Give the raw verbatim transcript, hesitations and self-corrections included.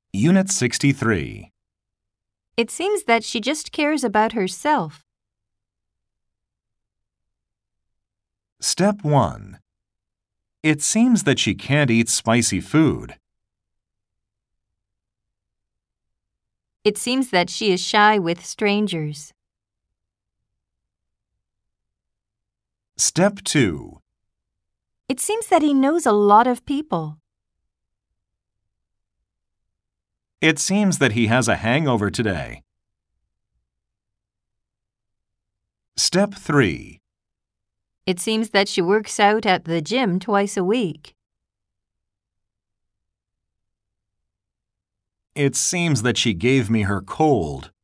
Unit sixty-three. It seems that she just cares about herself. Step one. It seems that she can't eat spicy food. It seems that she is shy with strangers. Step two. It seems that he knows a lot of people. It seems that he has a hangover today. Step three. It seems that she works out at the gym twice a week. It seems that she gave me her cold.